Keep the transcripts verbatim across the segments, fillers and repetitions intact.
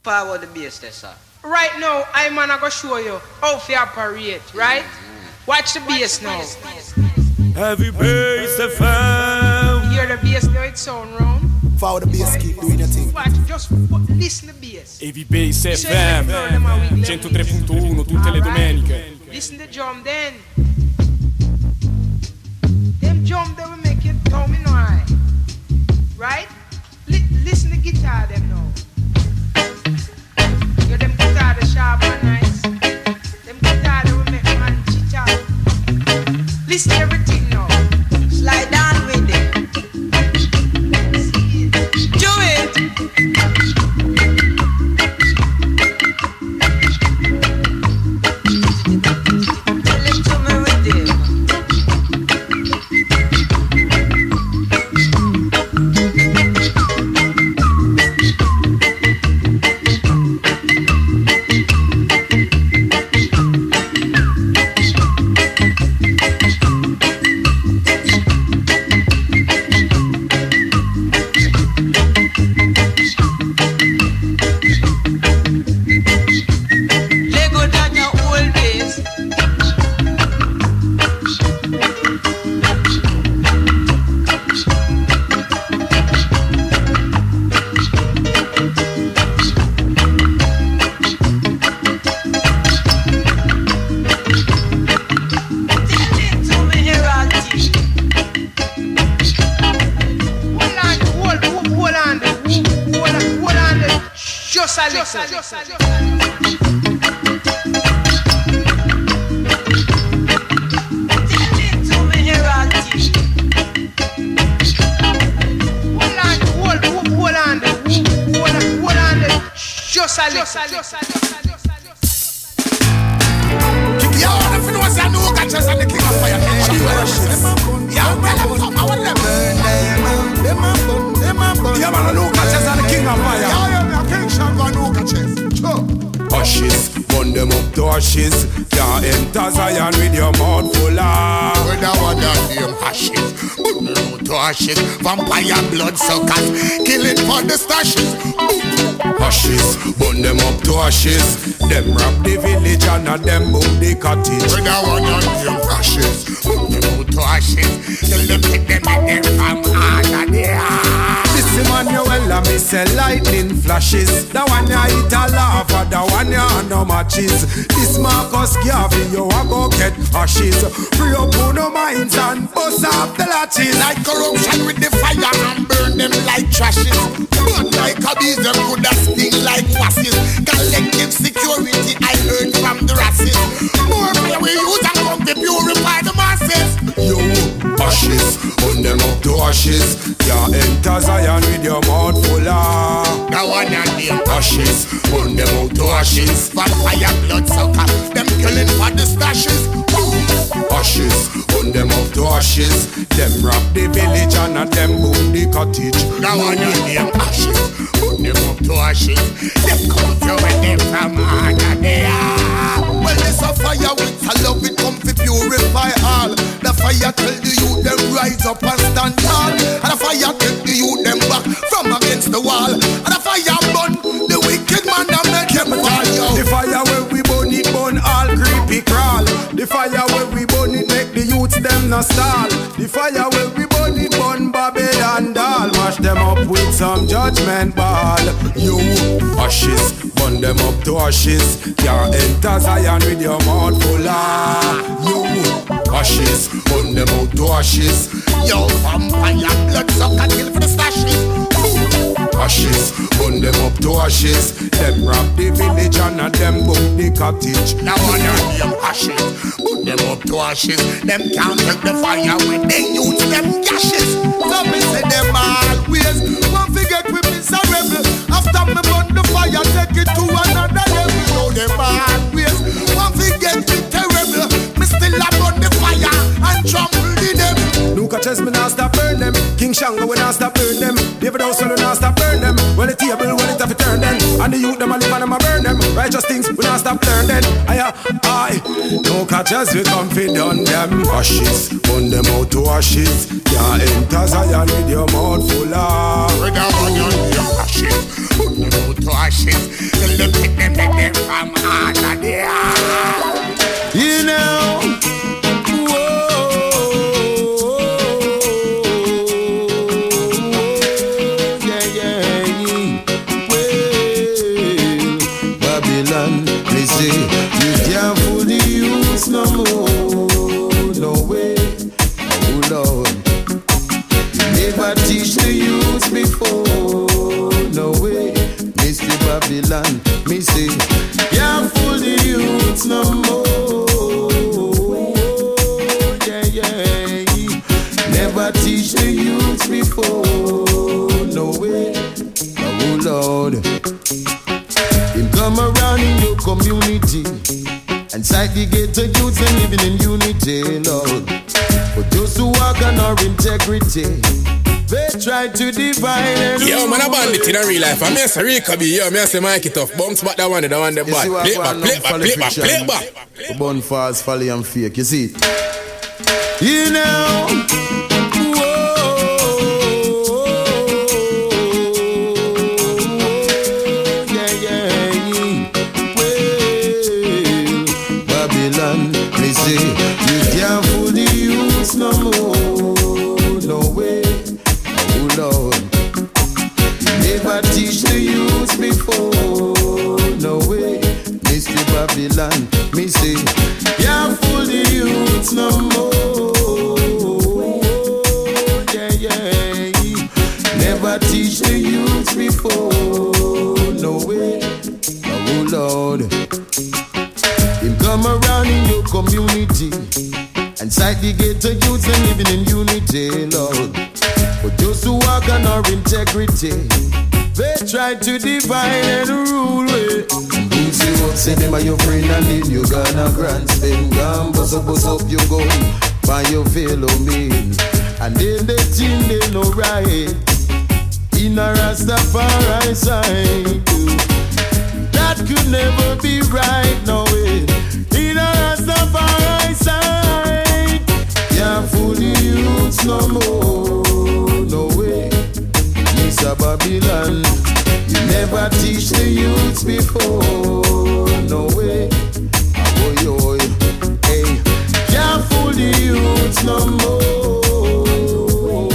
Forward the bass there, sir. Right now, I'm gonna go show you how to operate, right? Mm-hmm. Watch the bass now. Heavy bass F M. Hear the bass now, it sound round. Follow the bass, keep doing your thing. Watch, just listen to the bass. Heavy bass F M. centotré punto uno tutte le domeniche. Listen to the drum then. Them drum they will make you tell me no I. Right? Li- listen to the guitar them now. Yo, them guitar the sharp and nice. Them guitar they will make man chit out. Listen to everything now. Slide down with it. Do it. Tell it to me with it. Vampire bloodsuckers, killing for the stashes. Ashes, burn them up to ashes. Them rob the village and a them boom the cottage. With a one on them ashes, burn them up to ashes. Till them pick them and them from under there. This Emmanuel and me say lightning flashes. The one ya eat a lava, the one ya no matches. This Marcus Garvey, you a go get ashes. Free up on no minds and bust off the latches. Like corruption with the fire and burn them like trashes. But like a bees, them could have sting like wasses. Collective security, I heard from the rasses. More fire we use and come to purify the masses. Yo, ashes, burn them up to ashes. Ya enter Zion with your mouth full of the one and them ashes, burn them out to ashes. Vampire bloodsucker, them killing for the stashes. Ashes, burn them up to ashes. Them rob the village and a them boom the cottage. The one and them ashes, burn them up to ashes. Them come to when them from under there. Well, it's a fire with a love, it come to purify all. The fire tell the youth them rise up and stand tall. And the fire take the youth them back from against the wall. And the fire burn the wicked man that make him fall. The fire where we burn it burn all creepy crawl. The fire where we burn it make the youths them no stall. The fire where we burn it burn Babylon doll. Mash them up with some judgment ball. You ashes, burn them up to ashes. Can't enter Zion with your mouth full of. You ashes, burn them out to ashes. Yo, vampire bloodsucker, kill for the stashes. Ashes, burn them up to ashes. Them rob the village and a them boom the cottage. Now one of them ashes, burn them up to ashes. Them can't take the fire when they use them gashes. So me say them always won't forget we miserable. After me burn the fire, take it to another level. So them always won't forget we terrible. Me still a burn the fire and trample the them. Luka Chess me not stop burn them. King Shango we not stop burn them. David House we not stop burn them. Well the table well it have to turn them. And the youth them a live and them a burn them. Righteous things we not stop learn them. Aye aye. Luka Chess we come fi done them. Ashes, burn them out to ashes. Can't enter Zion with your mouth full of. With a one on your ashes, burn them out to ashes. from under there. You know, whoa, yeah, yeah, well, Babylon, they say you can't fool the youths no more, no way, oh Lord. Never teach the youths before, no way, Mister Babylon, me say, can't fool the youths no more, yeah, yeah, never teach the youths before, no way, oh Lord. Him come around in your community and sight the ghetto youths and living in unity, Lord. But those who walk on our integrity, they try to divide and Yo, rule. man, I bandit in a real life. I'm a Rika B. Yo, me say Mikey tough. Bounce back that one, that one, the bad. Play back, play back, play back, play back. The bun false, folly and fake. You see it? You know. Whoa, yeah, yeah. Well, Babylon, they say you can't fool the youths no more, no way. Lord, never teach the youths before, no way, Mister Babylon, me say, can't fool the youths no more, yeah, yeah, never teach the youths before, no way, oh Lord, him come around in your community and sight the ghetto youths and living in unity, Lord. But those who walk on our integrity, they try to divide and rule it. Boots you up, say them are your friend and then you gonna grand spend. Gone, bust up, bust up, you go by your fellow men. And then they think they know right in a Rastafari side. That could never be right, no way. In a Rastafari side, can't fool the youths no more. No way, Mister Babylon, you never teach the youths before. No way, oh yo, hey, can't fool the youths no more.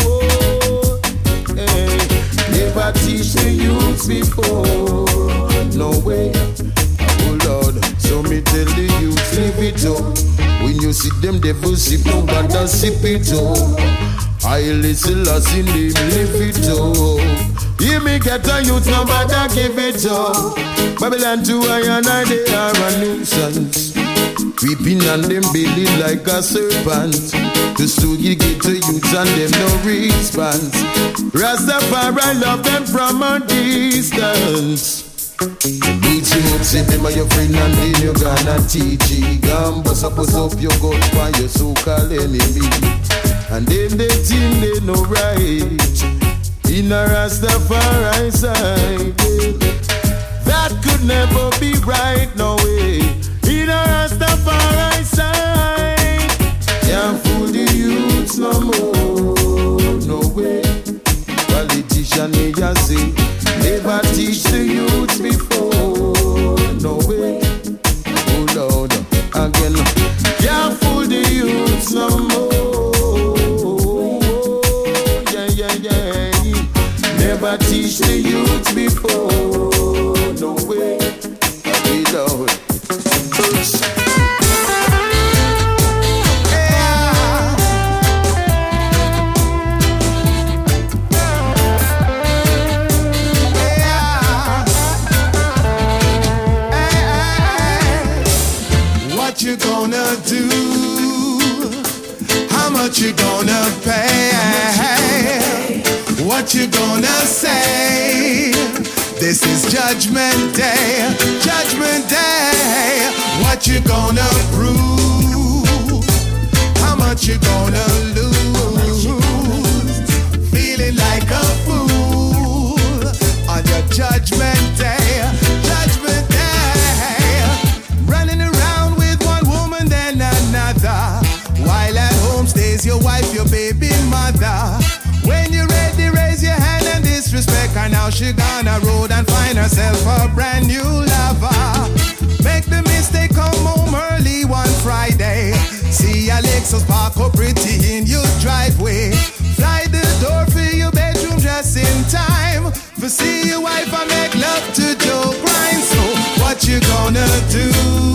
Hey, never teach the youths before. No way, oh Lord, so me tell the youths live it up. When you see them devils sip, no bother sip it up. I listen lost in them, live it up. Hear me get a youth, no matter give it up. Babylon to I and I, they are a nuisance. Creeping on them belly like a serpent. Just to get to youth and them no response. Rastafari love them from a distance. Beat you up, say them are your friend and then you gonna teach it. Gone, bust up, bust up your gun for your so-called enemy. And then they think they know right in a Rastafari side. That could never be right, no way. In a Rastafari side, can't fool the youths no more, no way. Politician me just say, never teach the youths before, no way. Oh Lord, again, can't fool the youths no more. Never teach the youth before, no way, I Lord. What you gonna do? How much you gonna pay? What you gonna say? This is Judgment Day, Judgment Day. What you gonna prove? How much you gonna lose? Feeling like a fool on your Judgment Day, Judgment Day. Running around with one woman then another, while at home stays your wife, your baby mother. When you're ready, raise your hand and disrespect her. Now she gonna road and find herself a brand new lover. see your wife and make love to Joe Grind. So what you gonna do?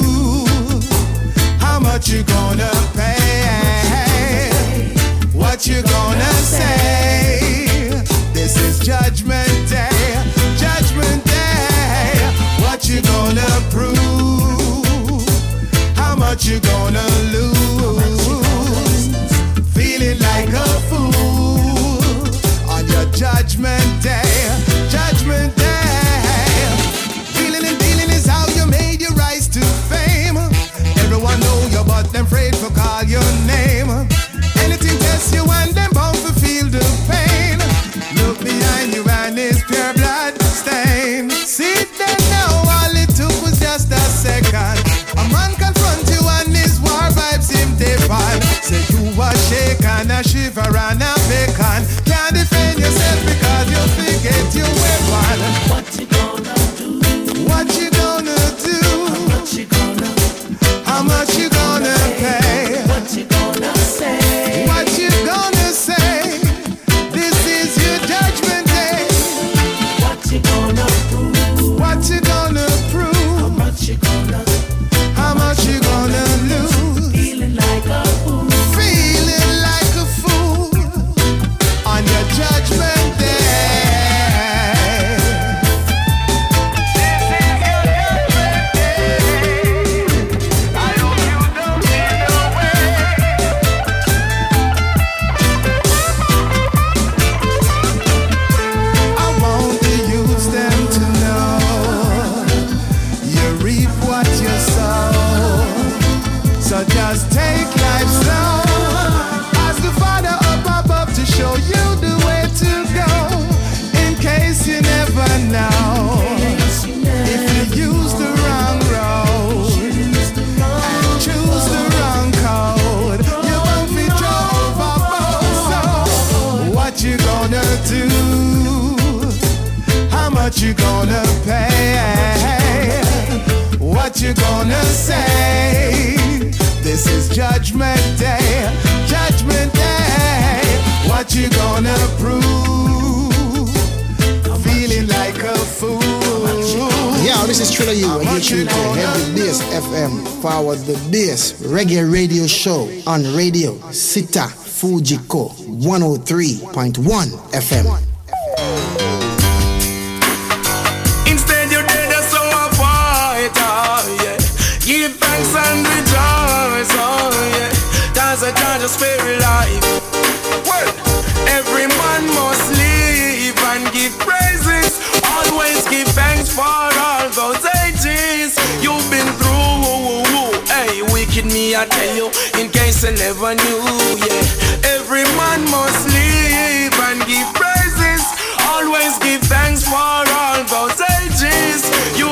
How much you gonna pay? What you gonna say? This is Judgment Day, Judgment Day. What you gonna prove? How much you gonna lose? Feeling like a fool on your Judgment Day, Judgment Day. Feeling and dealing is how you made your rise to fame. Everyone know you, but them afraid to call your name. Anything test you and them bound to feel the pain. Look behind you and it's pure blood stain. See that now, all it took was just a second. A man confront you and his war vibes him define. Say you a shake and a shiver and a bacon. Can't defend yourself because you forget your weapon. What you gonna do? What you gonna do? How much you gonna? How much you gonna pay? What you gonna say? What you gonna say? This is your Judgment Day. What you gonna prove? What you gonna prove? How much you gonna? How much you gonna lose? Feeling like a fool. Feeling like a fool on your Judgment Day. I want the youths them to know you reap what you sow. So just take life slow. Ask the Father up above to show you the way to go. In case you never know. If you use the wrong road and choose the wrong code, you won't be drove overboard. So what you gonna do? How much you gonna pay? What you gonna say? This is Judgment Day, Judgment Day. What you gonna prove? Feeling like a fool. Yeah, this is Triller U, and you're tuned to Heavy Bass F M. Forward the Bass Reggae Radio Show on Radio Sita Fujiko one oh three point one F M. Instead you're dead, so I fight, oh yeah. Give thanks and rejoice, oh yeah. That's a judge of spirit life. Well, every man must live and give praises. Always give thanks for all those ages you've been through. Hey, wicked me, I tell you, in case I never knew, yeah. Every man must live and give praises. Always give thanks for all those ages you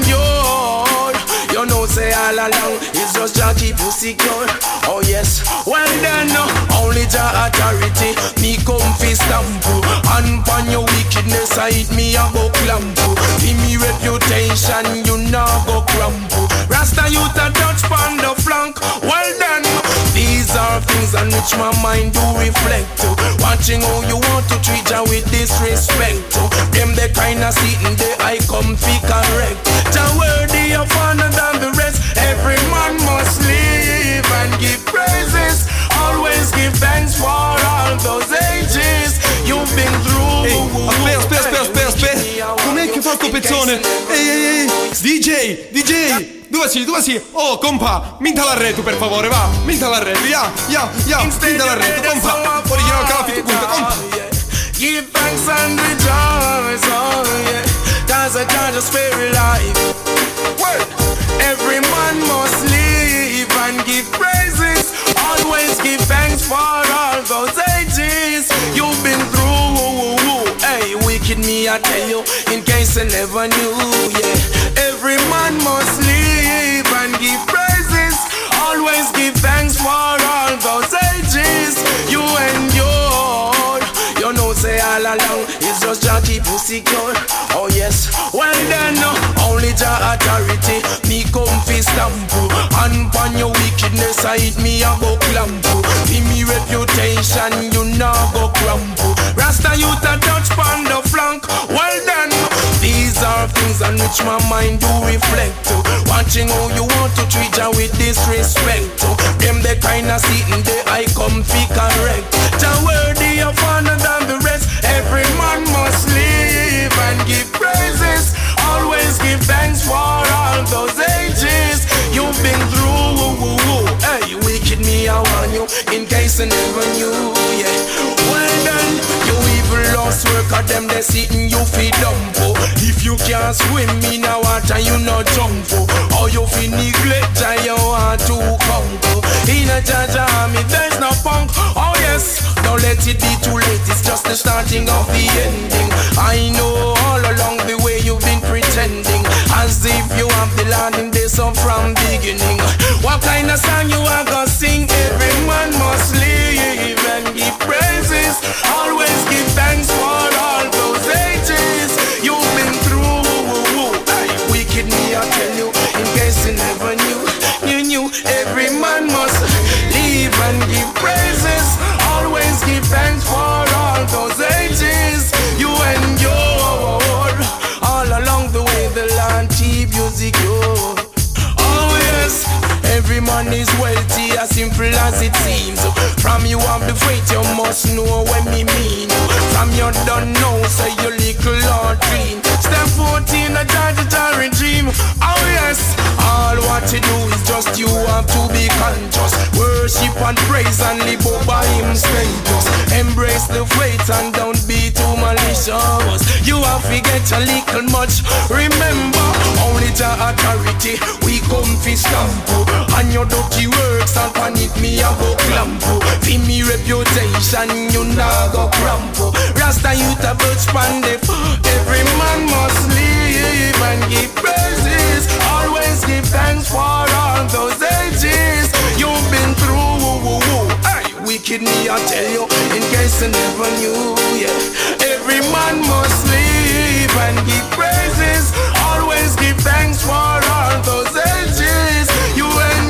endured. You know, say all along, it's just Jah keep you secure. Oh yes, well then, only Jah authority. Me come fi stamp you, and pon your wickedness I hit me a go clamp you. In me reputation, you now go crumple. Rasta youth a touch pon the flank. Well then, these are things on which my mind do reflect to. Watching how you want to treat Jah with disrespect to. Them the kind of sitting there I come fi correct. Jah worthy of honor than the rest. Every man must live and give praises. Always give thanks for all those ages you've been through. Ehi, aspetta, aspetta, aspetta, aspetta. Com'è che fa sto pezzone? Ehi, ehi, ehi, D J, D J. Dove sei, dove sei? Oh, compa, minta l'arredo per favore, va. Minta l'arredo, ya, ya, ya. Minta l'arredo, compa. Fuori che non capi tu punta, compa. Give thanks and rejoice, oh yeah. That's a judge of spirit life. Well, every man must live and give praises. Always give thanks for all those ages you've been through. Hey, wicked me, I tell you, in case I never knew, yeah. Every man must live and give praises. Always give thanks for all those ages you endured. You know, say all along, it's just Jah keep you secure. Oh yes, well then, only Jah authority. Me come fi stamp you, and pon your wickedness I hit me a go clamp you. In me reputation, you now go crumple. Rasta youth a touch pon the flank. Well then, things on which my mind do reflect to. Watching how you want to treat her with disrespect to. Them the kind of sitting there I come fi correct. The worthy of honor than the rest. Every man must live and give praises. Always give thanks for all those ages you've been through. Hey, wicked me, I want you in case I never knew. Yeah, well done. You evil lost worker, them they sitting you feed dump. If you can't swim in the water, you no jump. Or you fi neglect and you want to conquer. In a judge army, there's no punk. Oh yes, don't let it be too late. It's just the starting of the ending. I know all along the way you've been pretending as if you have the land in this song from beginning. What kind of song you are gonna sing? Every man must live and give praises. Always give thanks for all those ages you've been through. Hey, wicked me, I tell you, in case you never knew. You knew every man must live and give praises. Always give thanks for all those ages you endured. All along the way the land keep you secure. Oh yes, every man is wealthy, as simple as it seems. From you have the faith, you must know what me mean. From you don't know, say you little or clean. Step fourteen, a judgatory dream. Oh yes, all what you do is just you have to be conscious. Worship and praise and live up by him status. Embrace the faith and don't be too malicious. You have to get a little much. Remember, only the authority we come fi stamp. And your dirty works and panic me a go clamp. Fi me reputation you nah go cramp. Rasta you a birch pandef. Every man must live and give praises. Always give thanks for all those ages you've been through. Hey, wicked me, I tell you, in case you never knew. Yeah, every man must live and give praises. Always give thanks for all those ages you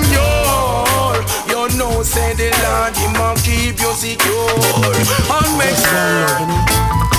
endure. You know, say the Lord, He must keep you secure and make sure.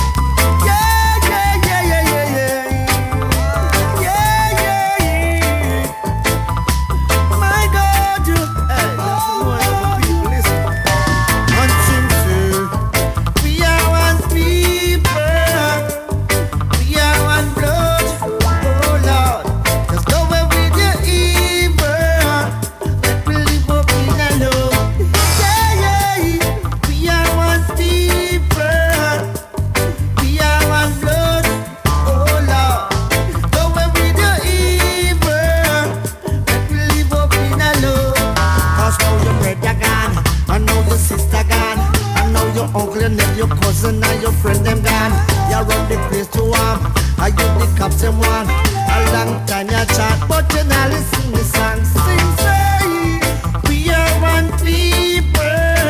Your cousin and your friend them gone. You run the place to warm. I give the captain one. A long time you chat, but you now listen the song. Sing say, we are one people.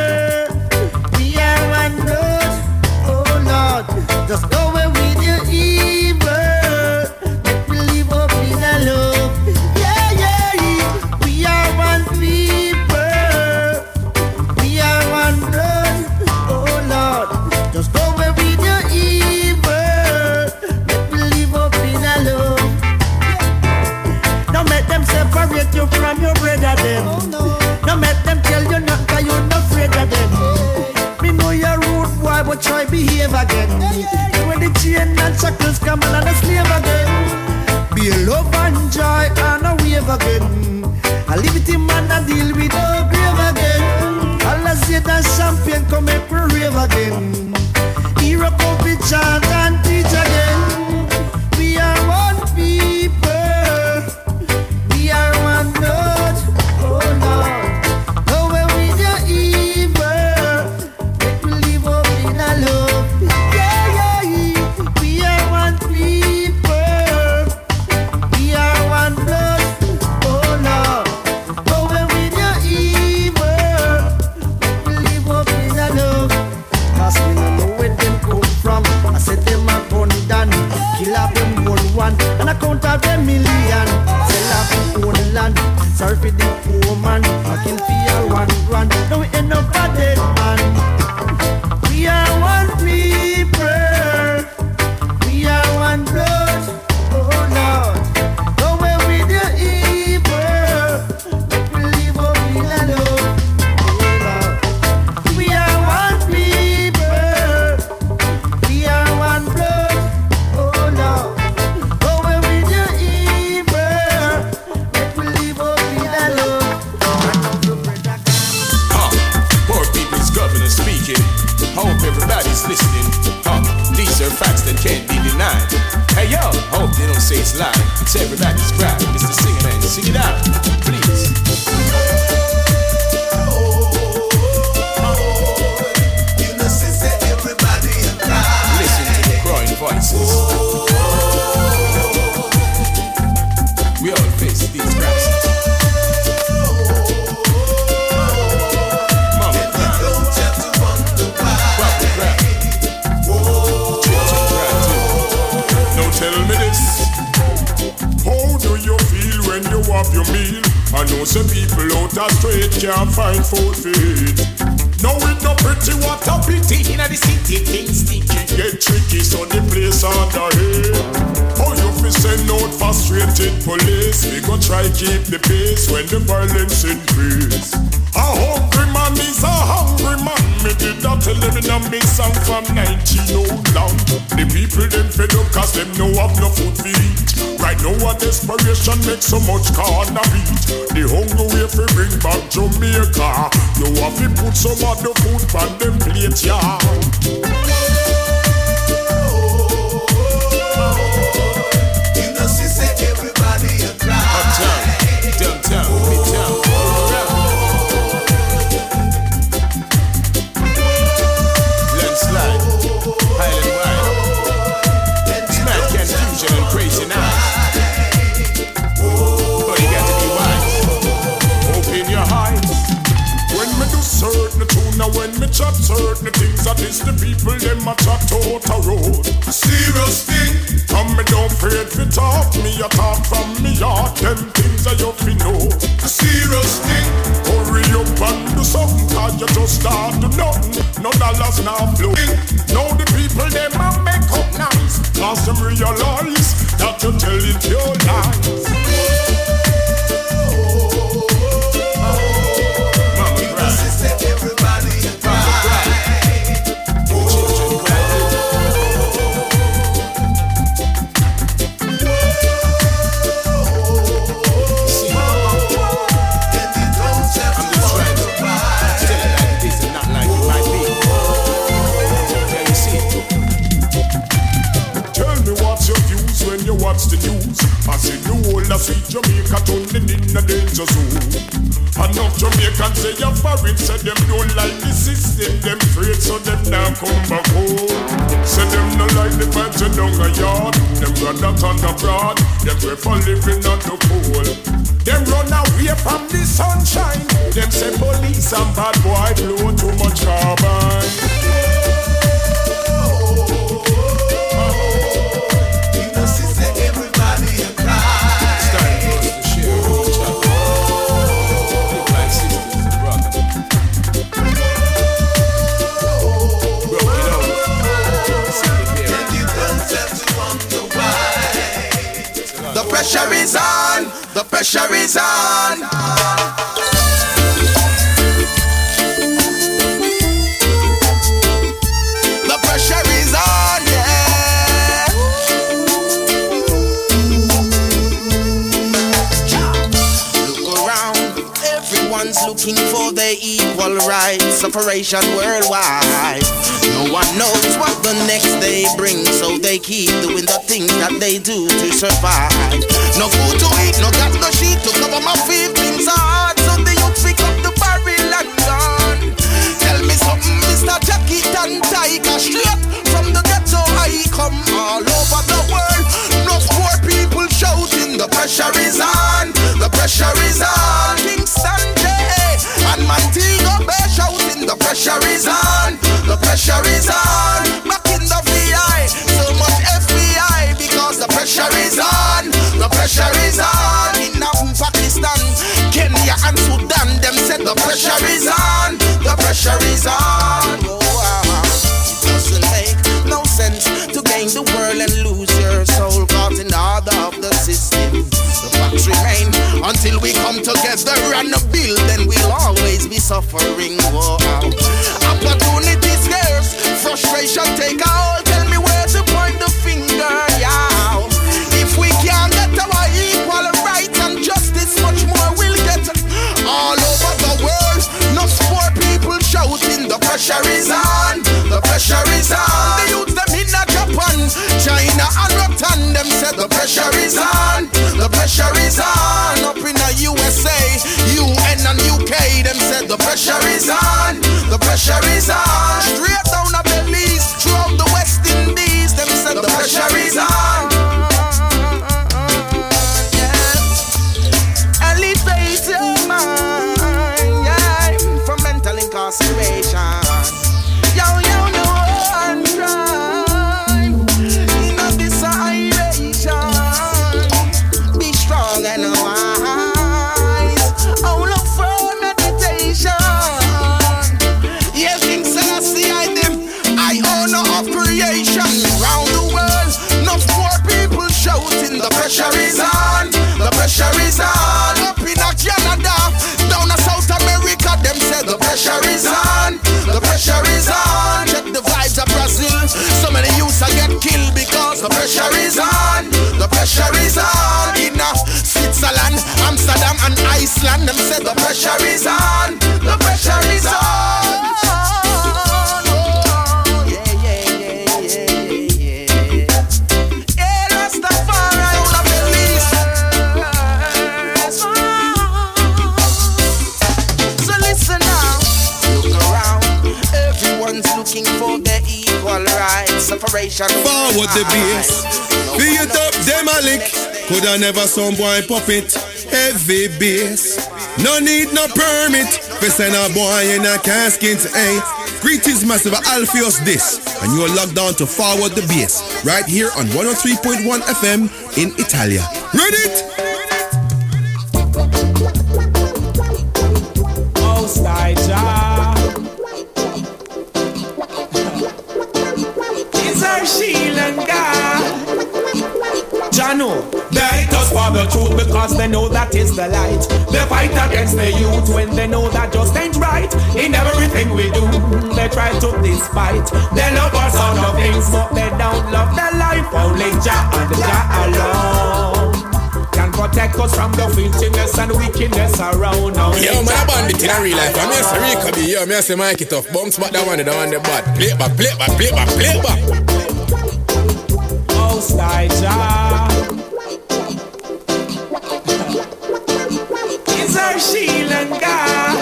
We are one blood. Oh Lord, just go away with your evil. Make me live up in a love. Yeah, yeah, we are one people. We are one blood. Oh Lord, just go away with your evil. Make me live up in a love. Don't make them separate you from your brother then. Oh, no. Don't make them tell you not cause you're not afraid of them. Hey. Me know you're rude boy, but try behave again. Hey, hey. When the chain and shackles come on and a slave again. Be a love and joy and a wave again. A liberty man a deal with no grave again. All I say that champagne come make me rave again. Hero come be chant and teach again. We are one people. We are one blood. Oh Lord, go away with your evil. Make me live up in a love. Yeah, yeah, we are one people. We are one blood. Oh Lord, go away with your evil. Make me live up in a love. Cause me no know where them come from. I said It's everybody's crowd. Mister Singer Man, sing it out, please. You know, sister, everybody a cry. Listen to the crying voices. We all face these crises. Tell me this, how do you feel when you have your meal? I know some people out of straight can't find food to eat. Now it no pretty, what a pity. Inna the city things sticky, get tricky, so the place under here. How you fi send out frustrated police? We go try keep the pace when the violence increase. A hungry man is a hungry man. Me did not tell them in a me song from nineteen oh long. The people them fed up cause them no have no food to eat. Right now a desperation makes so much corner beat. The hunger way fi bring back Jamaica. You have to put some of the food on them plate, yeah. You know, she said everybody a cry. Uptown, downtown, midtown. Landslide, Highland wide. Smack confusion and crazy nights. But you got to be wise. Open your eyes. When me do certain tune, now when me chat certain things, that is the people them a chat out a road. A serious thing. Come me don't afraid fi talk, me a talk from me heart. Them things that you fi know. A serious thing. Hurry up and do something, cause you just start to nothing. No dollars now flowing. Now the people them a make up nice, cause them realize that you telling your lies. Everybody a cry. Children cry. See, I'm just trying to tell it like it is and not like it might be. Can you see it? Tell me what's your views when you watch the news. I see the whole of sweet Jamaica turning in a danger zone. Enough Jamaicans say you're foreign, say them don't like the system, them afraid so them now come back home. Say them no like the vibes and down a yard, them rather turn abroad, them prefer living on the cold. Them run away from the sunshine, them say police and bad boy blow too much carbon. You know, she said everybody a cry. Starting close to share each other. Live like sisters and brothers. Broke it over. Simply bear And you don't have to wonder why. The pressure is on. The pressure is on. The pressure is on, yeah. Look around, everyone's looking for their equal rights. Separation worldwide. No one knows what the next day brings, so they keep doing the things that they do to survive. No food to eat, no got no sheet to cover my feelings hard, so the youth pick up the barrel and gun. Tell me something, Mister Jackie and Tiger, straight from the ghetto I come all over the world. No poor people shouting, the pressure is on, the pressure is on. Kingston J and Montego Bay shouting, the pressure is on, the pressure is on. Back in the V I, so much F B I, because the pressure is on, the pressure is on. In Pakistan, Kenya and Sudan, them said the pressure is on, the pressure is on. Oh, wow. It doesn't make no sense to gain the world and lose your soul, caught in the order of the system. The facts remain until we come together and build, then we'll always be suffering. Wow. Opportunity scarce, frustration take a hold. Tell me where to point the finger, yeah. If we can't get our equal rights and justice, much more we'll get all over the world. No poor people shouting, the pressure is on, the pressure is on. The youth them in Japan, China and Rotan, them said the pressure is on, pressure is on, the pressure is on. Straight down the Belize, throughout the West Indies, them said the pressure is on. Yeah. Elevate your mind, yeah, from mental incarceration. Yo, yo, no one crime in a desolation. Be strong and wise. Oh, look for meditation. Yes, King Selassie, I them. I own of creation. Round the world, no poor people shouting. The pressure is on. The pressure is on. Up in a Canada, down in South America, them said the pressure is on. The pressure is on. Check the vibes of Brazil. So many youths I get killed because the pressure is on. The pressure is on. In uh, Switzerland, Amsterdam and Iceland, them said the pressure is on. The pressure is on. Oh, yeah, yeah, yeah, yeah, yeah, yeah. Yeah, Rastafari, all of the least. So listen now. Look around. Everyone's looking for their equal rights. Separation. Forward the bass. Be it up, demolic. Coulda never some boy pop it. Heavy bass. No need no permit. For send a boy in a casket. Hey. Greetings massive Alpheus this. And you're locked down to Forward the Bass. Right here on one oh three point one F M in Italia. Read it? Most High Jah is our shield and guard. Jah know they hate us for the truth because they know that is the light. They fight against the youth when they know that just ain't right. In everything we do, they try to despite. They love us on the things, but they don't love their life. Only Jah and Jah alone can protect us from the filthiness and wickedness around. Only Yo, man, Jah I bandit in a real life. I mean, I say Rika B. Yo, me I say Mikey Tough. Bounce back that one, the one the bad. Play it back, play it back, play it back, play it back. Most High Jah is our shield and guard.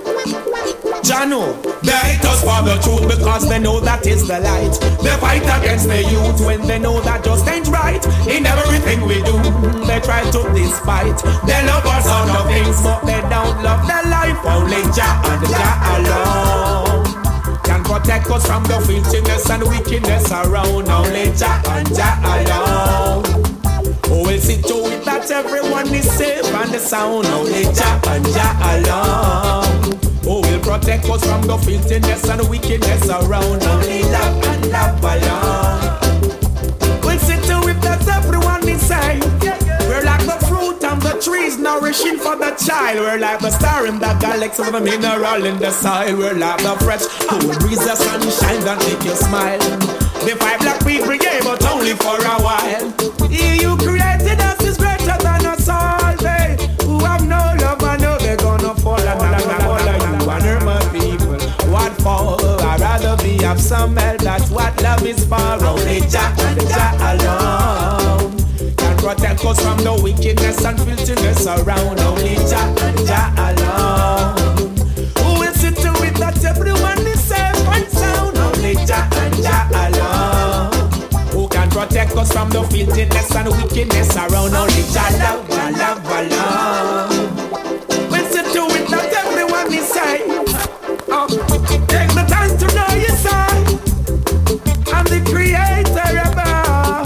Jah know they hate us for the truth because they know that is the light. They fight against the youth when they know that just ain't right. In everything we do, they try to despite. They love us on the things, but they don't love their life. Only Jah and Jah alone can protect us from the filthiness and wickedness around. Only Jah and Jah alone who will see to it that everyone is safe and the sound. Only Jah and Jah alone who will protect us from the filthiness and wickedness around. Only love and love alone will see to it that everyone is safe. We're like the fruit and the trees nourishing for the child. We're like the star in the galaxy with a mineral in the soil. We're like the fresh cool breeze, the sunshine that make you smile. The five black people gave but only for a while. He you created us is greater than us all. They who have no love, I know they're gonna fall. And I'm gonna fall like you wonder my people. What for? I'd rather be of some help. That's what love is for. Only Jah and Jah alone can protect us from the wickedness and filthiness around. Only Jah and Jah alone who will see to it that everyone is safe and sound. Only Jah and Jah alone who can protect us from the filthiness and wickedness around. Only Jah love, Jah love alone will see to it that everyone is safe. Oh, take the time to know your side. I'm the creator above.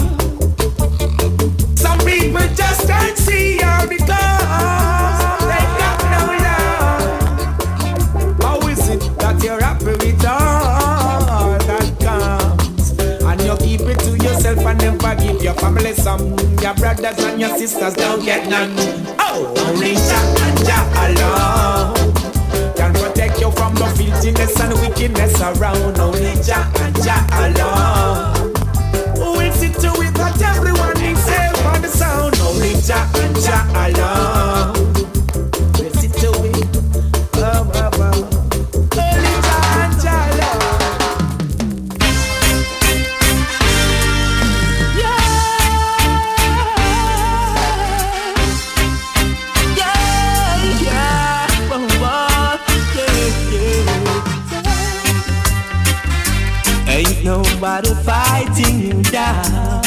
Some people just can't see her because they got no love. How is it that you're happy with all that comes and you keep it to yourself and never give your family some? Your brothers and your sisters don't get none. Oh, only Jah and Jah alone can protect you from the filthiness and wickedness around. Only Jah and Jah alone who will see to it that everyone is safe on the sound. Only Jah and Jah alone will see to it. Oh, oh, oh. Only Jah and Jah alone. Yeah, yeah, yeah, oh, oh, yeah. nobody fighting you down.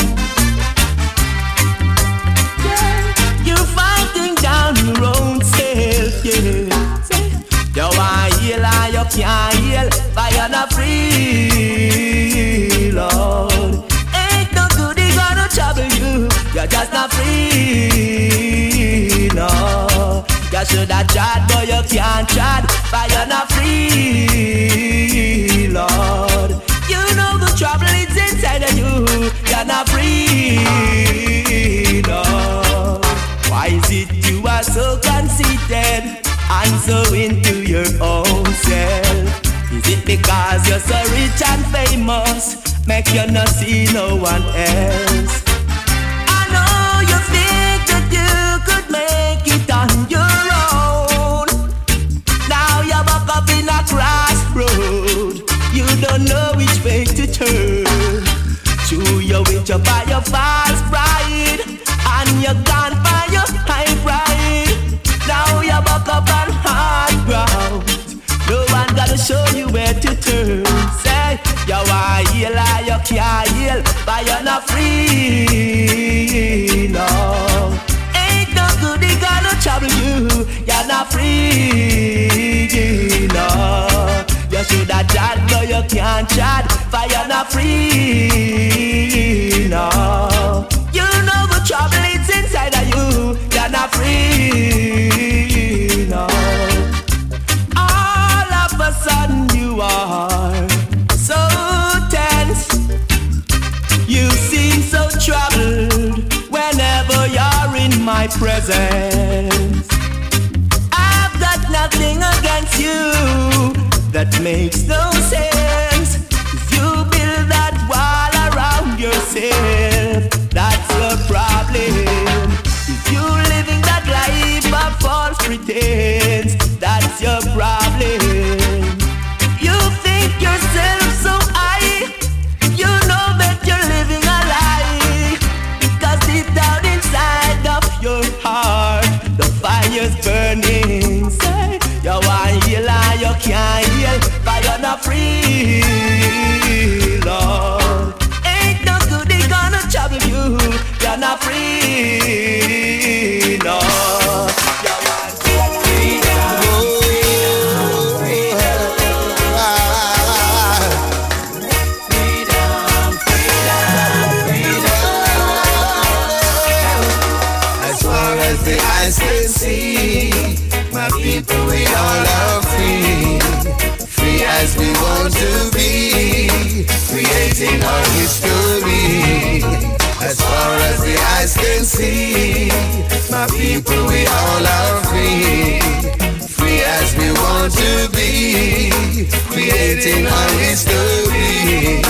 Yeah. You're fighting down your own self, yeah. You want heal and you can't heal, but you're not free, Lord. Ain't no good, they gonna trouble you. You're just not free, no. You should have tried, but you can't try, but you're not free, Lord. You know the trouble is inside of you. You're not free, no. Why is it you are so conceited and so into your own self? Is it because you're so rich and famous, make you not see no one else? I know you think that you could make it on your own. Now you're back up in a crossroad. You don't know which way to turn. True, you witch up by your false pride, and you can't find your high pride. Now you're back up on hard ground. No one gotta show you where to turn. Say, you want heal or you can't heal, but you're not free, no. Ain't no good, they gonna trouble you. You're not free, no. You should have tried, but you can't try, but you're not free, no. You know the trouble is inside of you. You're not free, no. All of a sudden you are so tense. You seem so troubled whenever you're in my presence. I've got nothing against you. That makes no sense. 'Cause you build that wall around yourself. That's your problem. If you're living that life of false pretense, that's your problem. You think yourself so high, you know that you're living a lie. Because deep down inside of your heart, the fire's burning. Say, you want heal and you can't heal, but you're not free, Lord. Ain't no good, they gonna trouble you. You're not free, no. You want freedom, freedom, freedom, freedom, freedom. As far as the eyes can see, my people, we all are free. Free as we want to be, creating our history. As far as the eyes can see, my people, we all are free. Free as we want to be, creating our history.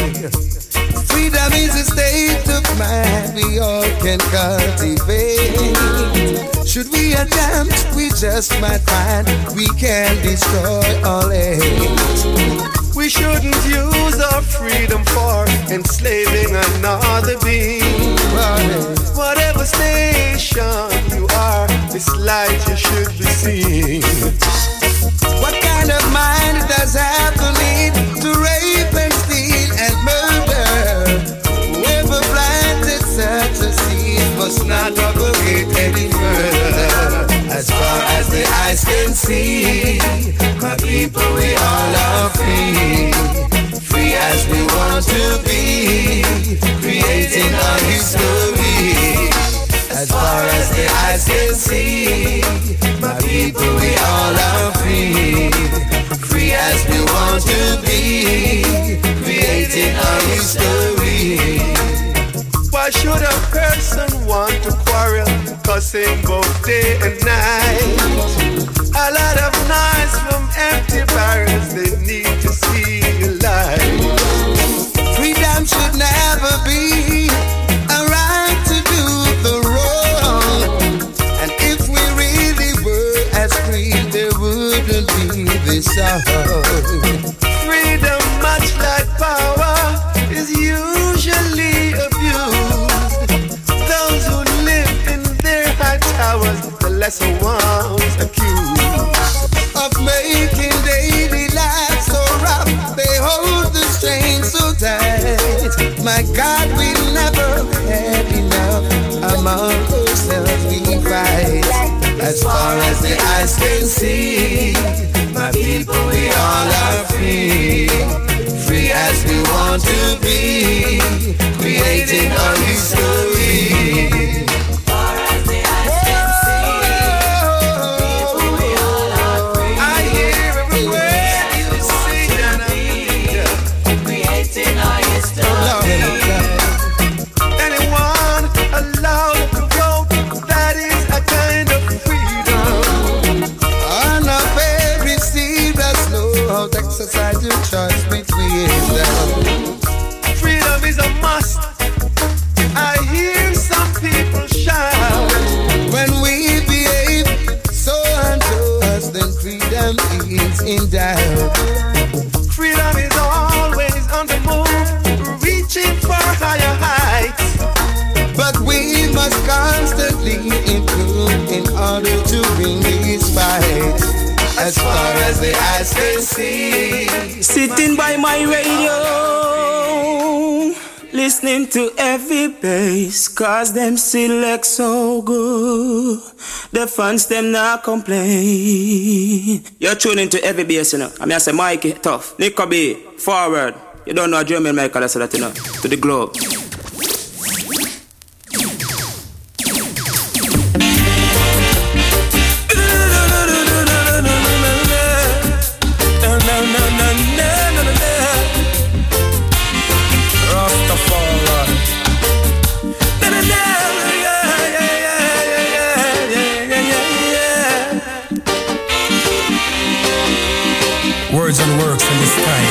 Freedom is a state of mind we all can cultivate. Should we attempt, we just might find we can destroy all hate. We shouldn't use our freedom for enslaving another being. Whatever station you are, this light you should be seeing. What kind of mind does have the need to rape and steal and murder? Whoever planted such a seed must not propagate any further. As far as the eyes can see, my people, we all are free. Free as we want to be, creating our history. As far as the eyes can see, my people, we all are free. Free as we want to be, creating our history. Why should a person want to quarrel, cussing both day and night? A lot of noise from empty barrels, they need to see a light. Freedom should never be a right to do the wrong. And if we really were as free, there wouldn't be this song. Freedom, much like power, is usually abused. Those who live in their high towers, the lesser ones accused of making daily life so rough. They hold the strain so tight. as the eyes can see, my people, we all are free. Free as we want to be, creating our history. Far as the eyes can see, people, we all are free. I hear every word you sing and be, creating our history. Anyone allowed to grow, that is a kind of freedom. On a very serious note, exercise your choice between them. Freedom is a must. I hear some people shout. When we behave so unjust, then freedom is in doubt. Freedom is always on the move, reaching for higher heights. But we must constantly improve in order to win this fight. As far as the eyes can see, sitting by my radio, listening to every bass, cause them select so good. The fans them not complain. You're tuning to every bass, you know. I mean I say Mikey, tough, Nico B, forward. You don't know a German Michael, I say that, you know. To the globe. Words and works in the sky.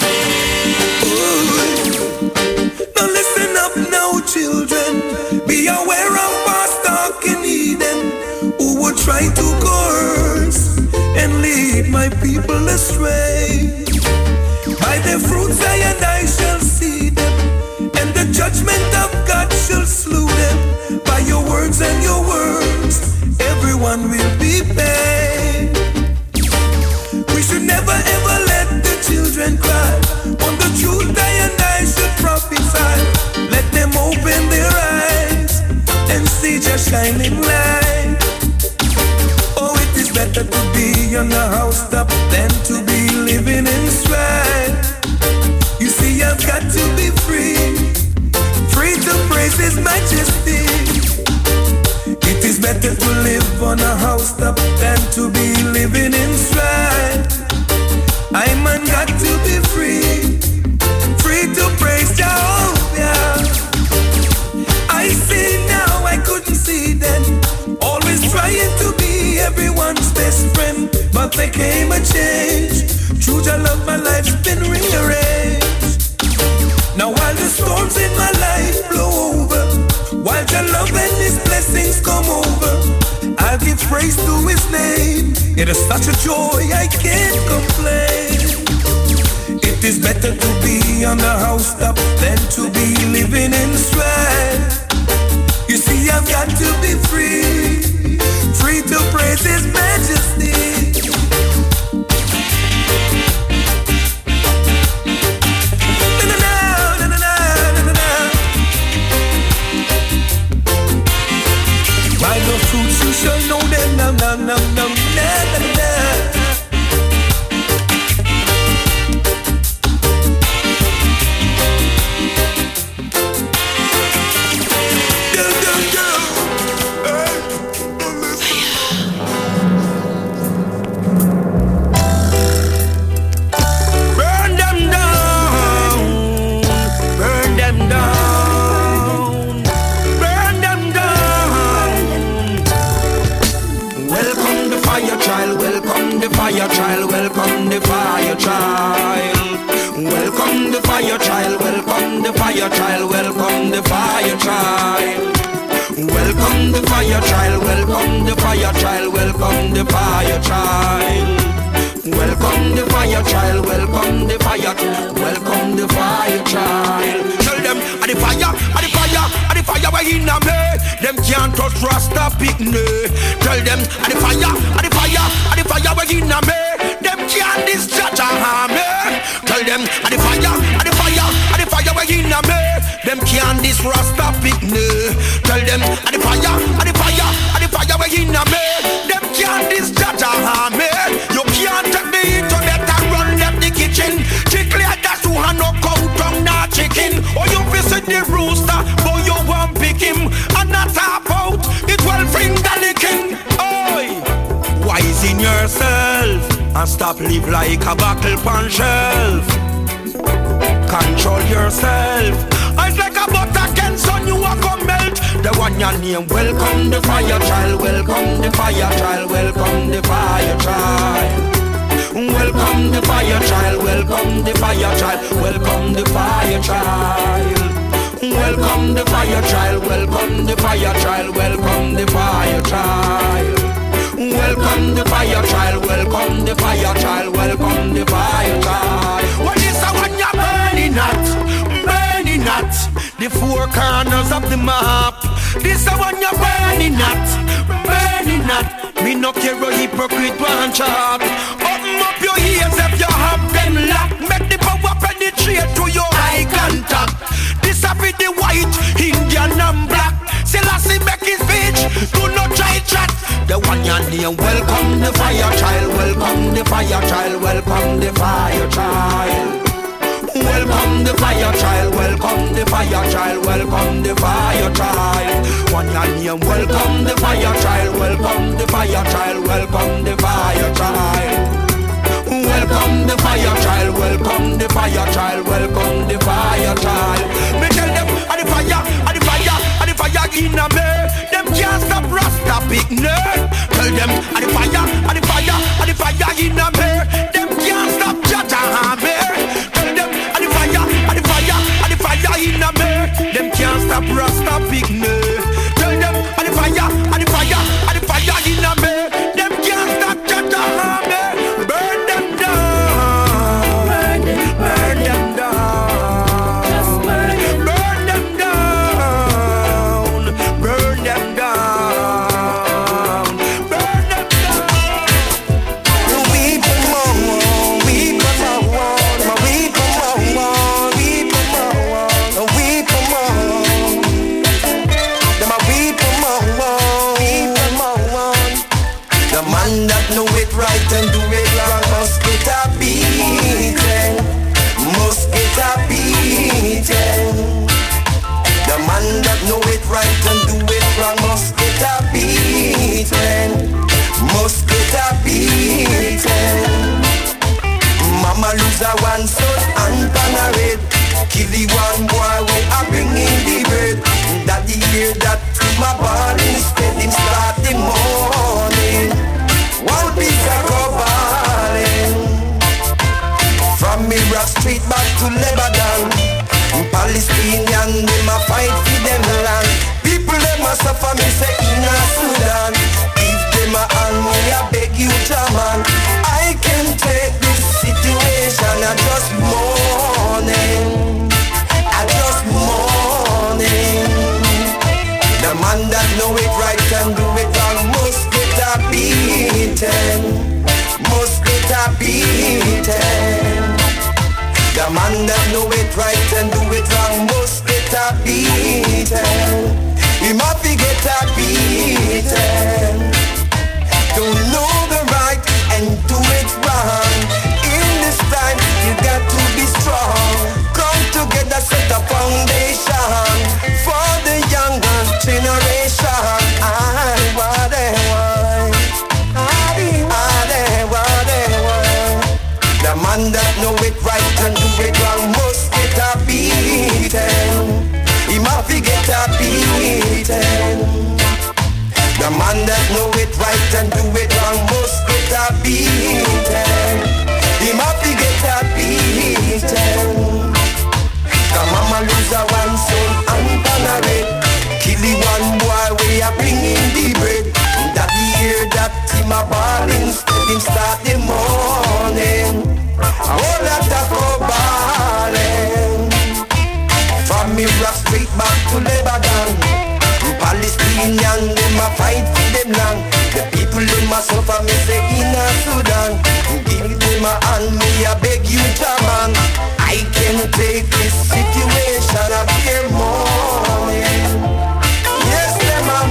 Now listen up now, children. Be aware of past talk in Eden, who would try to coerce and lead my people astray. By their fruits I and I shall see them, and the judgment of God shall slew them. By your words and your words, everyone will be paid. We should never ever let the children cry. On the truth I and I should prophesy. Let them open their eyes and see your shining light. Oh, it is better to be on a housetop than to be living in strife. You see, I've got to be free, free to praise His majesty. It is better to live on a housetop than to be living in strife. I man got to be free, free to praise Jehovah. I see now, I couldn't see then. Always trying to be everyone's best friend, but there came a change. True, I love my life's been rearranged. Now while the storms in my life blow over, while your love and His blessings come over, I'll give praise to His name. It is such a joy I can't complain. It is better to be on the housetop than to be living in strife. You see, I've got to be free, free to praise His majesty. By the fruits you shall know them, nam nam nam nam na na na. Girl, girl, girl, hey, burn them down, burn them down, burn them down. Welcome the fire child, welcome the fire child, welcome the fire child. Welcome the fire child, welcome the fire child, welcome the fire child. Welcome the fire child, welcome the fire child, welcome the fire child. Welcome the fire child, welcome the fire, welcome the fire child. Tell them, are the fire, are the fire, are the fire we're in a me. Them can't touch Rasta picnic. Tell them, are the fire, are the fire, are the fire we're in a me. Them can't discharge a hammer. Tell them, are the fire, are the fire, are the fire we're in a me. Them can't this Rasta picnic. Tell them, are the fire, are the fire, are the fire we're in a me. Them can't this and stop live like a bottle pan shelf. Control yourself. It's like a butter can son you a come melt. The one your name, welcome the fire child, welcome the fire child, welcome the fire child. Welcome the fire child, welcome the fire child, welcome the fire child. Welcome the fire child, welcome the fire child, welcome the fire child. Welcome the fire child, welcome the fire child, welcome the fire child. What is the one you're burning at? Burning at the four corners of the map. This the one you're burning at, burning at. Me no care a hypocrite one chat. Open up your ears if you have them locked. Make the power penetrate to your eye contact. This a be the white, Indian and black. Selassie make his speech, do not try chat. The one your name, welcome the fire child, welcome the fire child, welcome the fire child. Welcome the fire child, welcome the fire child, welcome the fire child. One your name, welcome the fire child, welcome the fire child, welcome the fire child. Welcome the fire child, welcome the fire child, welcome the fire child. Me tell them, a the fire, a the fire, a the fire in a me. Them can't stop Rasta big nerd. Tell them, a the fire, a the fire, a the fire in a me. Them can't stop Jaja Hammer. Tell them, a the fire, a the fire, a the fire in a me. Them can't stop Rasta big nerd. Tell them, a the fire, a the fire, a the fire in a me. Them can't stop Jaja Hammer. Burn them down, burn them, burn them down, just burn them, burn them down, burn them down, burn them down. Weep more, weep more, weep more, weep more, weep more. Them a weep more, weep more. The man that know it right and do it wrong must get a beating, must get a beating. The man that know it right and do it wrong must get a beating, must get a beating. Mama lose a one son and panarade, kill the one boy we a bring in the bread. Daddy hear that to my body instead him start the morning. One piece of coballing. From Iraq Street back to Lebanon, Palestinian them a fight for them land. People them a suffer me say in a Sudan. If them a hand me I beg you German. I can take this situation. I just mourning, I just mourning. The man that know it right can do it wrong must get a beaten, must get a beaten. The man that know it right and do it wrong must get a beaten. He must be get a beaten. Don't know the right and do it wrong. In this time you got to be strong. Come together, set a foundation for the younger generation. I want it, want. I want it, want. The man that know it right and do it wrong must get a beaten. He must be get a beaten. The man that know it right and do it wrong must get a beaten. He must be get a beaten. Cause mama lose a one son and panarade, kill the one boy we a bring in the bread. Daddy hear that him a ball instead him start the morning. A whole lot of coballing. From Iraq Street back to Lebanon, Palestinian them a fight for them land. The people them a suffer me say in a Sudan. Give them a hand me I beg you German. I can take this situation up here morning. Yes them a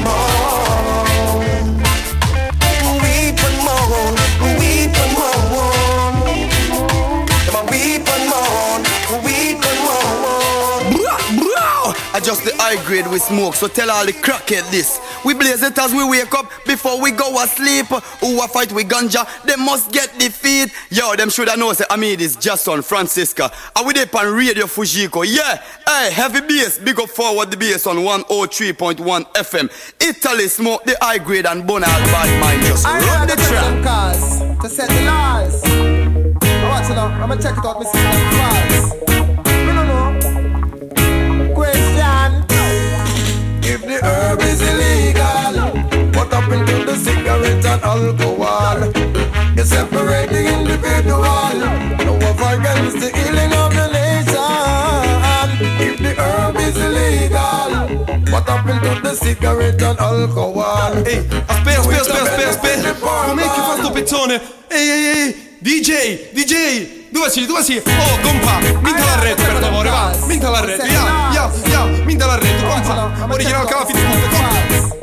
mourn, weep and mourn, weep and mourn. Them a weep and mourn, weep and mourn. I just the high grade with smoke, so tell all the crackhead this. We blaze it as we wake up before we go asleep. Who a fight with ganja, they must get defeat. Yo, them shoulda know say I mean this just on Francisca. And we dey on Radio Fujiko. Yeah, hey, heavy bass, big up forward the bass on one oh three point one F M. Italy smoke the high grade and bone out bad mind. Just I run the track. Cars to set the laws. I want to know. I'm gonna check it out, Mister Fast. We don't know. Question. If the herb is illegal, what happened to the cigarette and alcohol? You separate the individual. No of against the healing of the nation. If the herb is illegal, what happened to the cigarette and alcohol? Ehi, aspetta, aspetta, aspetta, aspetta, aspetta. Com'è che fa sto pezzone? Ehi, ehi, ehi, D J, D J, dove sei, dove sei? Oh, compa, minta la rete per favore, va, minta la rete, ya, ya, ya, minta la rete, compa, original cava fit punto, compa.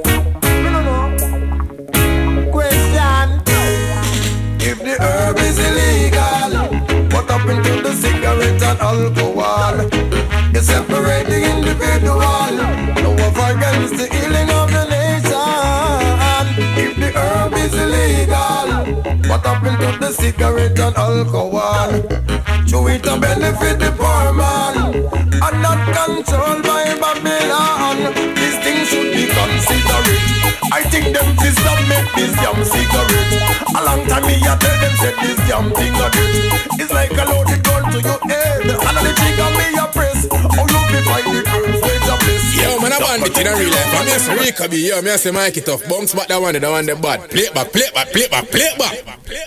Question. If the herb is illegal, what happened to the cigarette and alcohol? You separate the individual. No of against the healing of the nation. If the herb is illegal, what happened to the cigarette and alcohol? To it and benefit the poor man, and not controlled by Babylon. This thing should be considered. I think them system make this damn cigarette. A long time me I tell them said this damn thing a it. It's like a loaded gun to your head, and on the trigger me a press. Oh you be fight the girls with a bliss. Yo man, I want it in a real life. I'm here Rika B. Yo, me I say Mikey Tough. Bounce back that one, that one the bad. Play it back, play it back, play it back, play it back.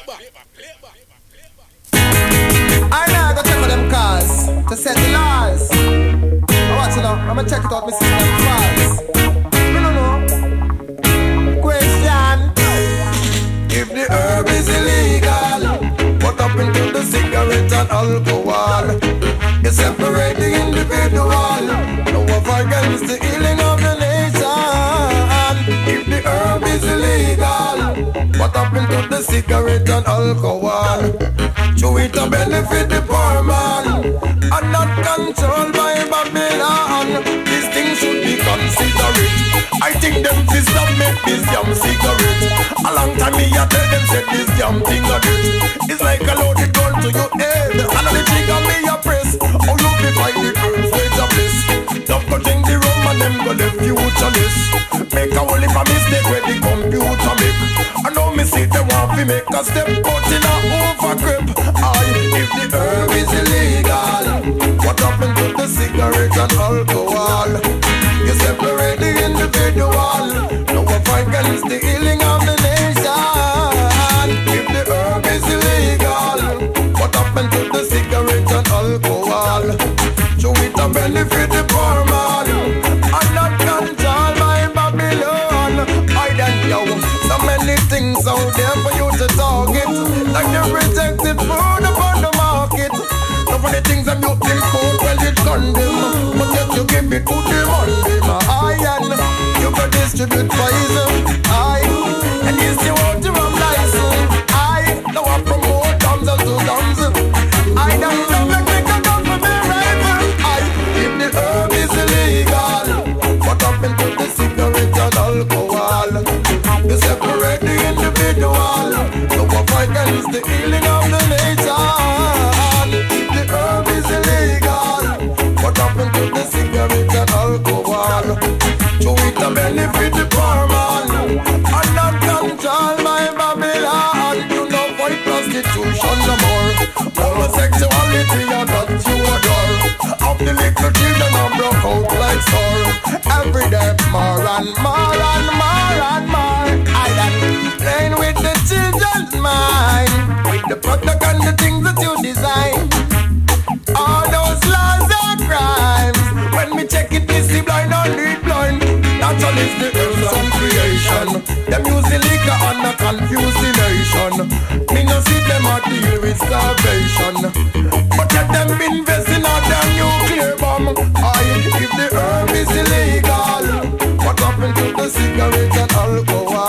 I now go check for them cars to set the laws. I want to know. I'm gonna check it out, Mister Fast. We don't know. Question. If the herb is illegal, what happened to the cigarette and alcohol? You separate the individual. No of against the healing of the nation. If the herb is illegal, what happened to the cigarette and alcohol? To it to benefit the poor man, and not controlled by Babylon. This thing should be considered. I think them system make this damn cigarette. A long time me I tell them said this damn thing a it. It's like a loaded gun to your head, and on the trigger me a press. Oh you be fight the girls with a bliss. Don't go drink the rum and them go the futureless. Make a whole heap of mistake where the computer make. I know me see them want to make a step out in a overgrip. I, if the herb is illegal, what happened to the cigarette and alcohol? You separate the individual. No one against the healing of the nation. If the herb is illegal, what happened to the cigarette and alcohol? So it a benefit the poor man, and not controlled by Babylon. I don't know, so many things out there for you to target, like the rejected food upon the market. Some of the things that you think food, well it's condemned, but yet you give it to the money, my iron. You can distribute poison, I, and you still want to run license, I. Now I promote thumbs and two thumbs, I don't know make me come down for me rifle, I. If the herb is illegal, what happened to the cigarette and alcohol? You separate the individual, no one fight against the healing of the nation. If the herb is illegal, what happened to the cigarette and alcohol? To it a benefit the poor man, and not controlled by Babylon. You know fight prostitution no more. Homosexuality are that you adore. Of the little children are broke out like sore. Every day more and more and more and more. I am playing with the children's mind, with the product and the things that you design. All those laws are crimes. When me check it, me see blind and read blind. Natural is the earth and creation. Them use the liquor and a confuse the nation. Me no see them a deal with starvation, but let them invest in a damn nuclear bomb. I, if the herb is illegal, what happened to the cigarette and alcohol?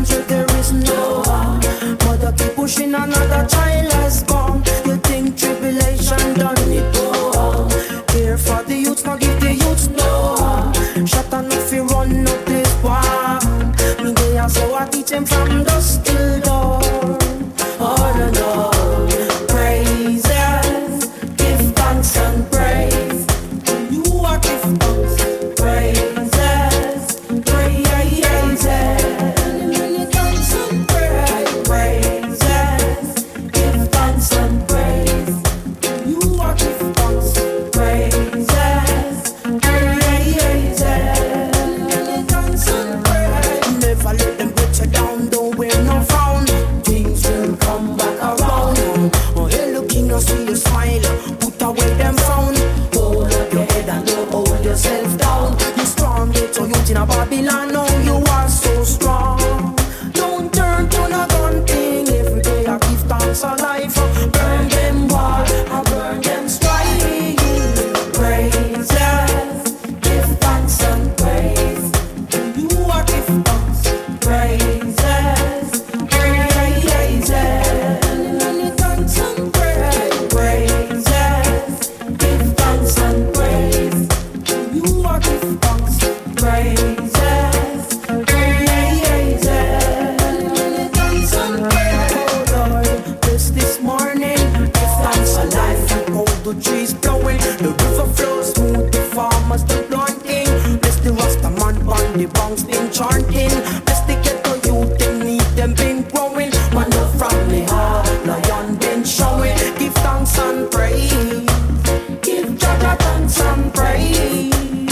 country there is no harm. Mother keep pushing, another child has gone. You think tribulation done it go on. Care for the youths, now give the youths no harm. Shut on if you run up this war. Me they are so I teach them from dusk till dawn. Oh no no. Praises, give thanks and praise. You are give thanks, praises, praises. Thanks and praise, praises, give thanks and praise. You are give thanks, praises, praises. Thanks and praise. Never let them put you down, don't wear no frown. Things will come back around. Oh, hey, looking, you see you smile. Put away them frown. Hold up your head and don't hold yourself down. You strong, get your youth in a Babylon. Now you are so strong. Don't turn to no gun thing. Every day I give thanks a life. Burn them wall, I burn them strife. Praises, give thanks and praise. You are give thanks, praises, praises. Thanks and praise, praises, give thanks and praise. You are give thanks, praises, praises. Thanks and praise. Oh Lord, bless this morning. Give thanks for life and all the trees blowing. The river flows smooth, the farmers the planting. Bless the Rasta man on the banks been chanting. Bless the ghetto youth, them need them been growing. Man up from the heart, lion been showing. Give thanks and praise. Give Jaga thanks and praise.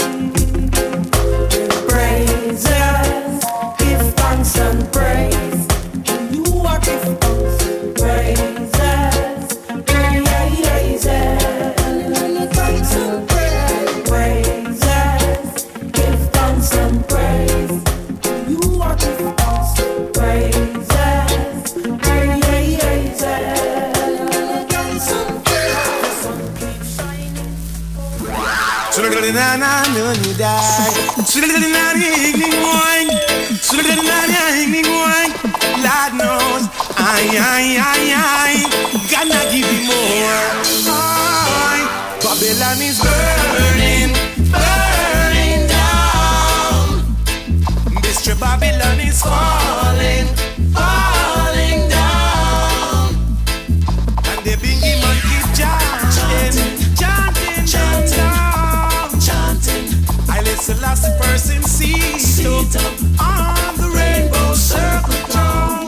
Praises, give thanks and praise. You are give thanks, praises, praises. Thanks and praise, praises, give thanks and praise. You are give thanks, praises, praises. Thanks and praise. The sun keeps shining. Lord knows, I, I, I, I, gonna give you more. Aye. Babylon is burning, burning down. Mister Babylon is falling, falling down. And the bingy man keep chanting, chanting, chanting, chanting. I listen last person seat up on the rainbow circle throne.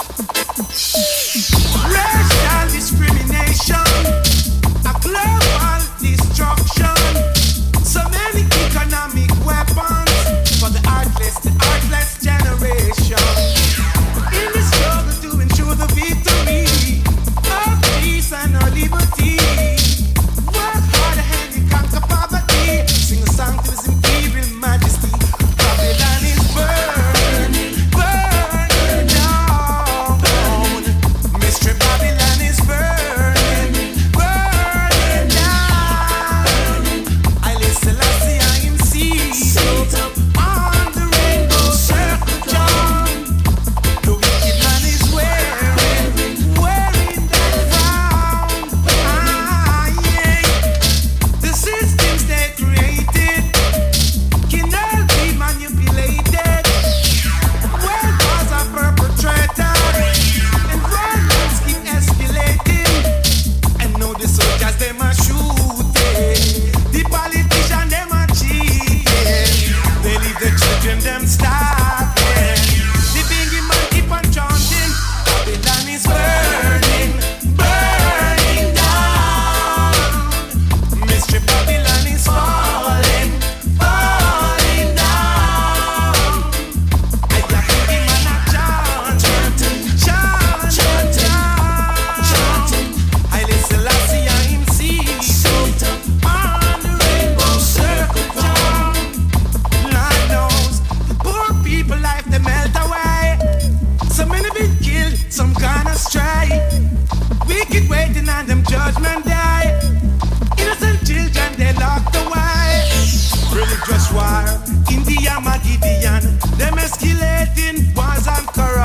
Racial discrimination, a global destruction. So many economic weapons for the artless, the artless generation. In the struggle to ensure the victory of peace and our liberty. Work hard and you conquer poverty. Sing a song to His Imperial Majesty. Babylon is burning, burning down. Mister Babylon is burning, burning down. I listen, I see, I am seated on the rainbow circle John. The wicked man is wearing, wearing that crown. Ah, yeah. The systems they created can all be manipulated. Where wars are perpetrated and violence keep escalating. And now the soldiers them are shooting, the politicians them are cheating. They leave the children them starving. The bingy man keep on chanting. Babylon is burning, burning down. Mister Babylon is falling, falling down. I got bingy man a chanting, chanting, chanting. I listen, I see, I am seated on the rainbow circle John. Lord knows, the poor people life they melt away. So many been killed, some gone astray. Wicked waiting on them judgment day. Innocent children they locked away. Religious war, India, Magidian, them escalating wars and corruption.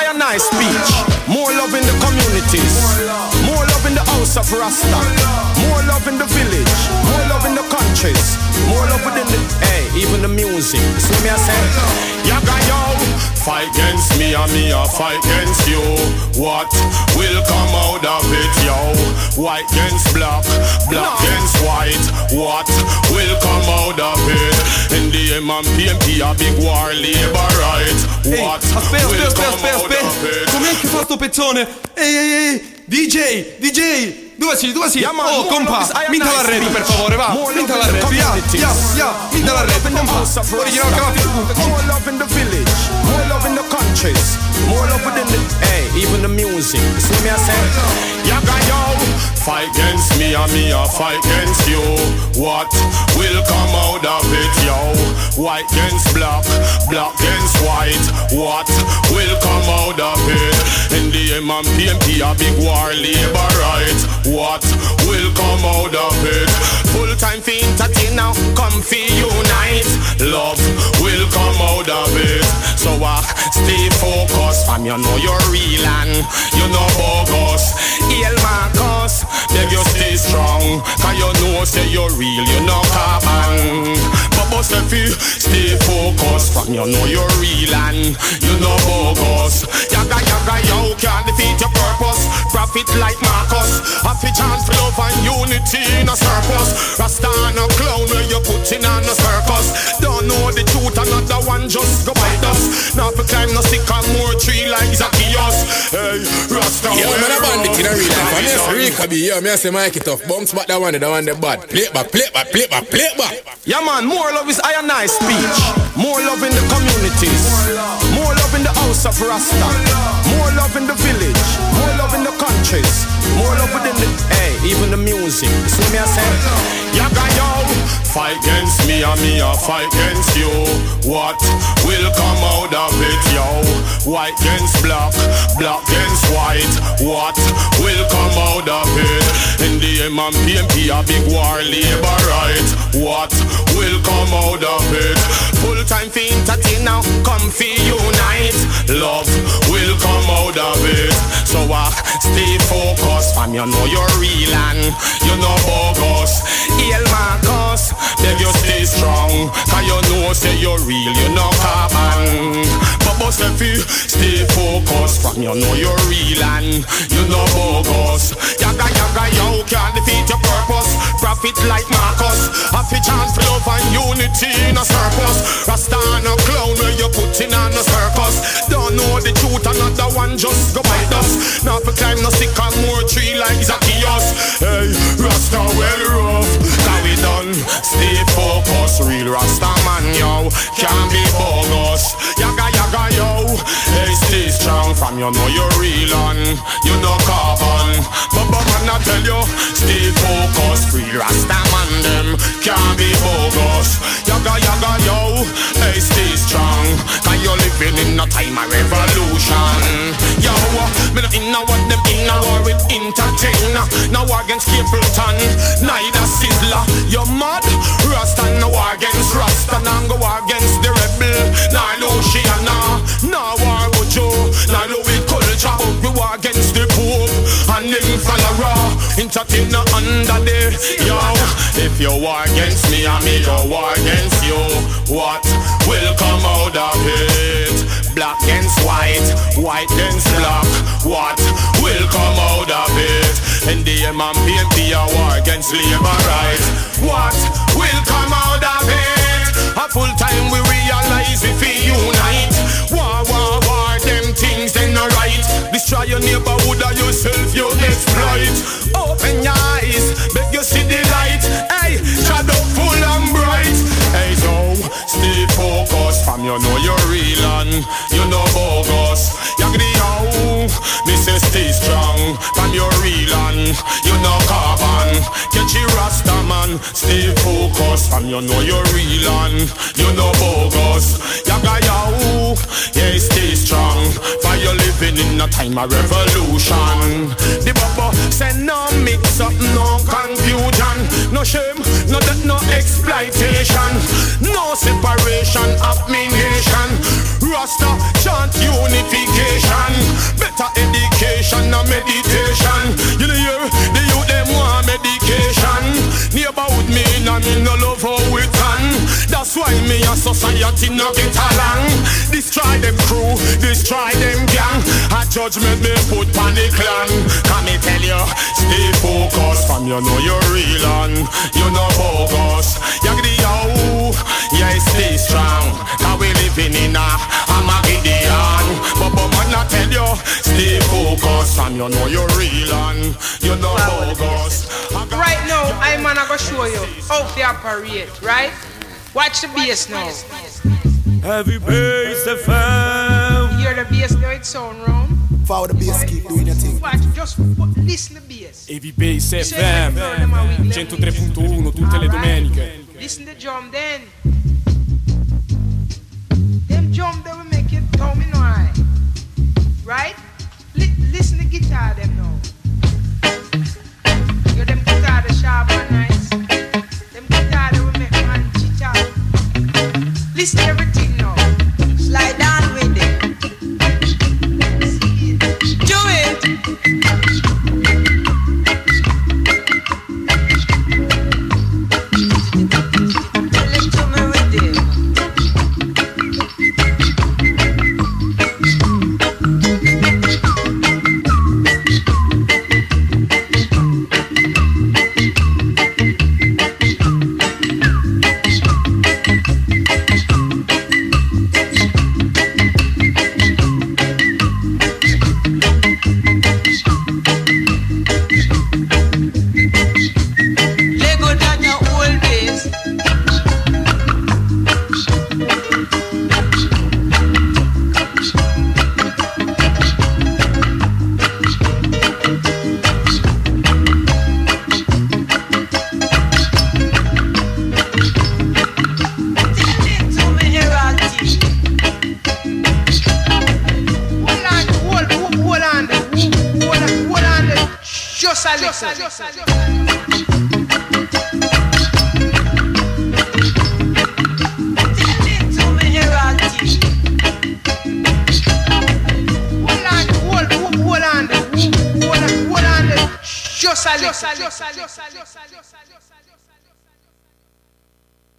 I and I speech. More love in the communities. More love in the house of Rasta. More love in the village. More love in the countries. More love within the, hey, even the music. See me I say, yaga yo. Fight against me and me a fight against you. What will come out of it, yo? White against black, black no. against white. What will come out of it? In the M and P M P a big war, labor right. What aspetta, will aspetta, come aspetta, out aspetta. of it? Com'è che fa sto pezzone? Ehi, ehi, ehi, D J, D J. Dove sei? Dove sei? Yeah, man, oh, compa, minta la radio per favore, va. Minta la radio, yeah, yeah, yeah. Minta la radio, compa. Original Calafio. More love in the village. More love in the countries. More love within the, hey, even the music. See me I say, yaga yo. Fight against me and me a fight against you. What will come out of it, yo? White against black, black against white. What will come out of it? In the M and P M P a big war, labor right. What will come out of it? Full time for entertain now, come for unite. Love will come out of it. So I uh, stay focused, fam, you know you're real and you know bogus. Hail Marcus, beg you stay strong, cause you know say you're real, you know carbon. But bust if you stay focused, fam, you know you're real and you know bogus. Yaga yaga yo, can't defeat your purpose. Profit like Marcus, happy chance for love and unity in a surplus. Rasta and a clown where you put in on a circus. Don't know the truth, another one just go bite us. Now for climb no stick on more tree like Zacchaeus. Hey, Rasta. Yeah, man, a bandit in a real life. I'm here for Rika B. Yeah, me I say Mikey Tough. Bounce back that one, the one the bad. Play it back, play it back, play it back, play it back. Yeah, man, more love is I and I speech. More love in the communities. More love in the house of Rasta. More love in the village. More love in the countries. More love within the, hey, even the music. See me I say, yaga yo. Fight against me and me a fight against you. What will come out of it, yo? White against black, black against white. What will come out of it? In the M and P M P a big war, labor right. What will come out of it? Full time for entertain now, come for unite. Love will come out of it. So I uh, stay focused, fam, you know you're real and you know bogus. Hail Marcus, beg you stay strong, cause you know say you're real, you know carbon. But bust if you stay focused, fam, you know you're real and you know bogus. Yaga yaga yo, can't defeat your purpose. Profit like Marcus, happy chance for love and unity in a surplus. Rasta and a clown where you put in on a circus. Don't know the truth, another one just go bite us. Now for climb no stick on more tree like Zacchaeus. Hey, Rasta well rough, cause we done stay focused. Real Rasta man yo, can't be bogus. Yaga yaga yo, hey stay strong, fam, you know you're real and you know carbon. But but man I tell you, stay focused. Real Rasta man them can't be bogus. Yaga yaga yo, hey stay strong, cause you're living in a time of revolution. Yo, me not in a what them in a war with entertainer. No war against Capleton, neither Sizzler. You're mad? Rasta no war against Rasta, now go war against the rebel. Nah Luciana, no war with Joe, nah Louis culture, but we war against the Pope and them follower. Entertainer under there, yo. If you war against me and me go war against you, what will come out of it? Black against white, white against black. What will come out of it? And the M and P M P a war against labor right. What will come out of it? A full time we realize if we unite. War, war, war, them things they not right. Destroy your neighborhood or yourself you exploit. Open your eyes, beg you see the light. Hey, shadow full and bright. Hey, so stay focused, fam, you know you're real and you know bogus. Yagri yo, me say stay strong, fam, you're real and you know carbon. Catch you Rasta man, stay focused, fam, you know you're real and you know bogus. Yaga yo, yeah, stay strong, for you living in a time of revolution. The bubble say no mix up, no confusion, no shame, no that, no exploitation, no separation of me nation. Rasta chant unity. unification. Better education and meditation. You know hear the youth them want medication. Neighborhood me and me no love how we can. That's why me and society no get along. Destroy them crew, destroy them gang. A judgment me put on the clan. Can me tell you, stay focused. Fam, you know you're real and you know bogus. Yagdi yo, yeah, stay strong. Cause we living in a Armageddon. But but man I tell you, stay focused. Fam, you know you're real and you know bogus. Right now, I'm gonna go show you how they operate, right? Watch the bass now. Heavy bass F M. Hear the bass now, it sound round. Follow the bass, keep doing your thing. Watch, just listen to the bass. Heavy Bass F M centotré punto uno tutte le domeniche. Listen to the drum then. Them drum they will make you tell me no I. Right? Li- listen to the guitar them now. Yo, them guitar the sharp and nice. Them guitar they will make man chit out. Listen to everything now. Slide down with it. Do it. Tell it to me with it. Lego down your old base. Tell it to me, Heraldi. Hold on, hold, hold, hold on, hold on, hold on, just a little. Tell it to me, Heraldi. Hold on, hold, hold, hold on, hold on, hold on, just a little.